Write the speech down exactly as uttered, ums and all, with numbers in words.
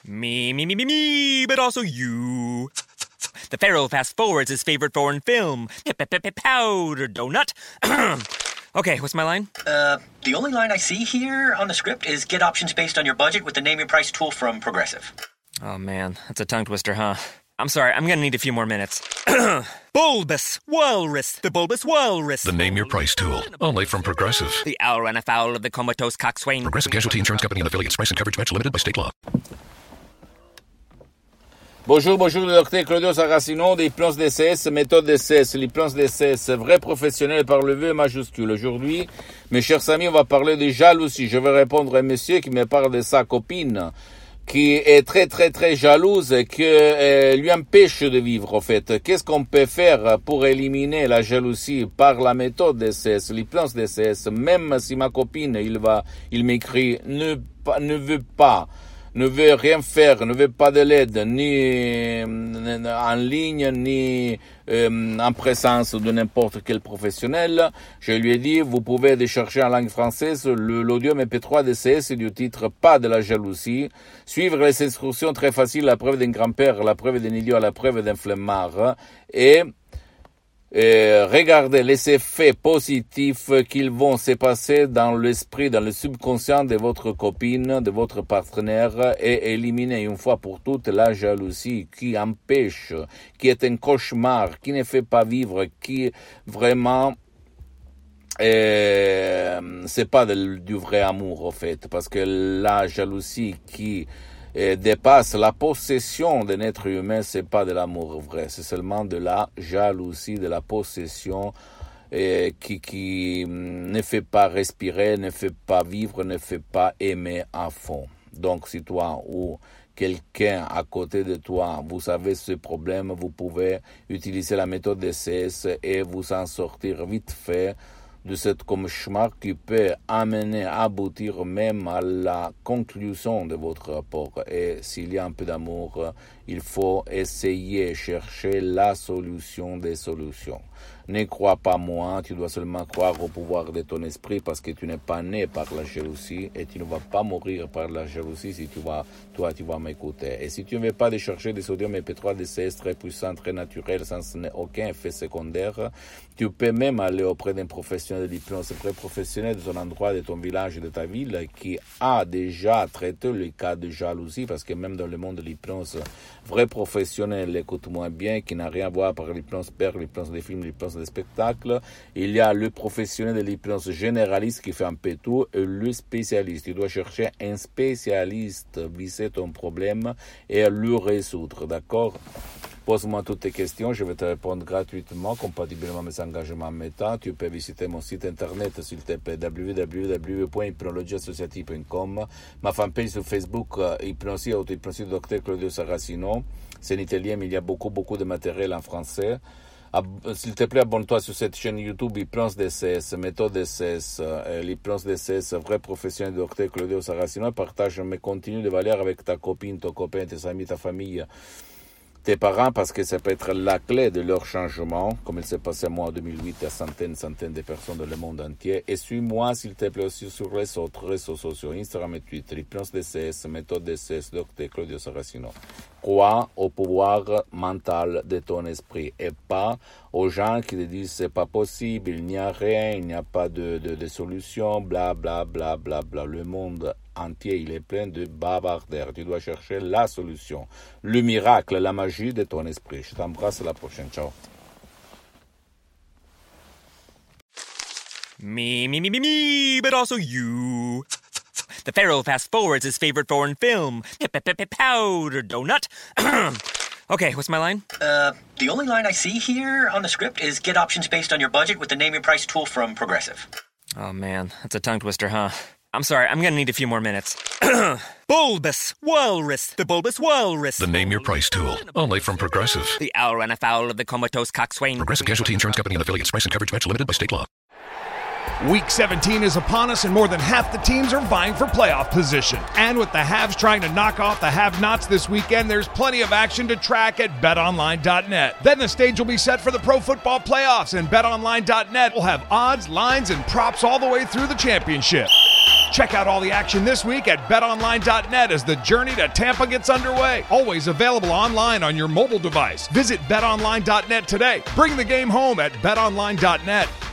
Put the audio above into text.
Me, me, me, me, me, but also you. The Pharaoh fast forwards his favorite foreign film, Powder Donut. Okay, what's my line? Uh, the only line I see here on the script is get options based on your budget with the Name Your Price tool from Progressive. Oh man, that's a tongue twister, huh? I'm sorry, I'm gonna need a few more minutes. Bulbous Walrus, the Bulbous Walrus. The Name Your Price tool, only from Progressive. The owl ran afoul of the comatose coxswain. Progressive Casualty Insurance Company and affiliates. Price and coverage match limited by state law. Bonjour, bonjour, le docteur Claudio Saracino d'Hypnose D C S, méthode D C S, l'hypnose D C S, vrai professionnel par le V majuscule. Aujourd'hui, mes chers amis, on va parler de jalousie. Je vais répondre à un monsieur qui me parle de sa copine, qui est très, très, très jalouse et qui euh, lui empêche de vivre, en fait. Qu'est-ce qu'on peut faire pour éliminer la jalousie par la méthode D C S, l'hypnose D C S, même si ma copine, il va, il m'écrit, ne, ne veut pas, ne veut rien faire, ne veut pas de l'aide, ni en ligne, ni euh, en présence de n'importe quel professionnel. Je lui ai dit, vous pouvez décharger en langue française le, l'audio M P trois D C S du titre « Pas de la jalousie », suivre les instructions très faciles, la preuve d'un grand-père, la preuve d'un idiot, la preuve d'un flemmard, et Et regardez les effets positifs qu'ils vont se passer dans l'esprit, dans le subconscient de votre copine, de votre partenaire, et éliminer une fois pour toutes la jalousie qui empêche, qui est un cauchemar, qui ne fait pas vivre, qui vraiment euh, c'est pas de, du vrai amour en fait, parce que la jalousie qui Et dépasse la possession d'un être humain, c'est pas de l'amour vrai, c'est seulement de la jalousie, de la possession et qui, qui ne fait pas respirer, ne fait pas vivre, ne fait pas aimer à fond. Donc si toi ou quelqu'un à côté de toi, vous avez ce problème, vous pouvez utiliser la méthode D C S et vous en sortir vite fait de cette cauchemar qui peut amener, aboutir même à la conclusion de votre rapport. Et s'il y a un peu d'amour, il faut essayer, chercher la solution des solutions. Ne crois pas moi, tu dois seulement croire au pouvoir de ton esprit parce que tu n'es pas né par la jalousie et tu ne vas pas mourir par la jalousie si tu vas, toi tu vas m'écouter. Et si tu ne veux pas décharger des sodium M P trois D C S très puissants, très naturels, sans aucun effet secondaire, tu peux même aller auprès d'un professionnel de l'hypnose, très professionnel de ton endroit, de ton village, de ta ville, qui a déjà traité le cas de jalousie, parce que même dans le monde de l'hypnose, vrai professionnel, écoute-moi bien, qui n'a rien à voir par l'hypnose père, l'hypnose des films, l'hypnose des spectacles, il y a le professionnel de l'hypnose généraliste qui fait un peu tout, et le spécialiste. Tu dois chercher un spécialiste, viser ton problème et le résoudre, d'accord? Pose-moi toutes tes questions, je vais te répondre gratuitement, compatiblement à mes engagements en mes temps. Tu peux visiter mon site internet, s'il te plaît, w w w point hypnologie associative point com, ma fanpage sur Facebook, uh, Hypnosie, auto-hypnosie du docteur Claudio Saracino. C'est en italien, mais il y a beaucoup, beaucoup de matériel en français. Ab- s'il te plaît, abonne-toi sur cette chaîne YouTube Hypnose D C S, méthode D C S, euh, l'hypnose D C S, vrai professionnel du docteur Claudio Saracino. Partage mes contenus de valeur avec ta copine, ton copain, tes amis, ta famille, tes parents, parce que ça peut être la clé de leur changement, comme il s'est passé moi en deux mille huit à centaines, centaines de personnes dans le monde entier. Et suis-moi, s'il te plaît, aussi sur les autres réseaux sociaux, Instagram et Twitter, Hypnose D C S, méthode D C S, docteur Claudio Saracino. Crois au pouvoir mental de ton esprit et pas aux gens qui te disent c'est pas possible, il n'y a rien, il n'y a pas de, de, de solution, bla bla bla bla bla. Le monde entier, il est plein de bavardaires. Tu dois chercher la solution, le miracle, la magie de ton esprit. Je t'embrasse, à la prochaine. Ciao. Me, me, me, me, me, but also you. The Pharaoh fast forwards his favorite foreign film, Powder Donut. Okay, what's my line? Uh, the only line I see here on the script is get options based on your budget with the Name Your Price tool from Progressive. Oh man, that's a tongue twister, huh? I'm sorry, I'm gonna need a few more minutes. Bulbous Walrus, the Bulbous Walrus. The Name Your Price tool, only from Progressive. The owl ran afoul of the comatose coxswain. Progressive Casualty Insurance Company and affiliates. Price and coverage match limited by state law. Week seventeen is upon us, and more than half the teams are vying for playoff position. And with the haves trying to knock off the have-nots this weekend, there's plenty of action to track at bet online dot net. Then the stage will be set for the Pro Football Playoffs, and bet online dot net will have odds, lines, and props all the way through the championship. Check out all the action this week at bet online dot net as the journey to Tampa gets underway. Always available online on your mobile device. Visit bet online dot net today. Bring the game home at bet online dot net.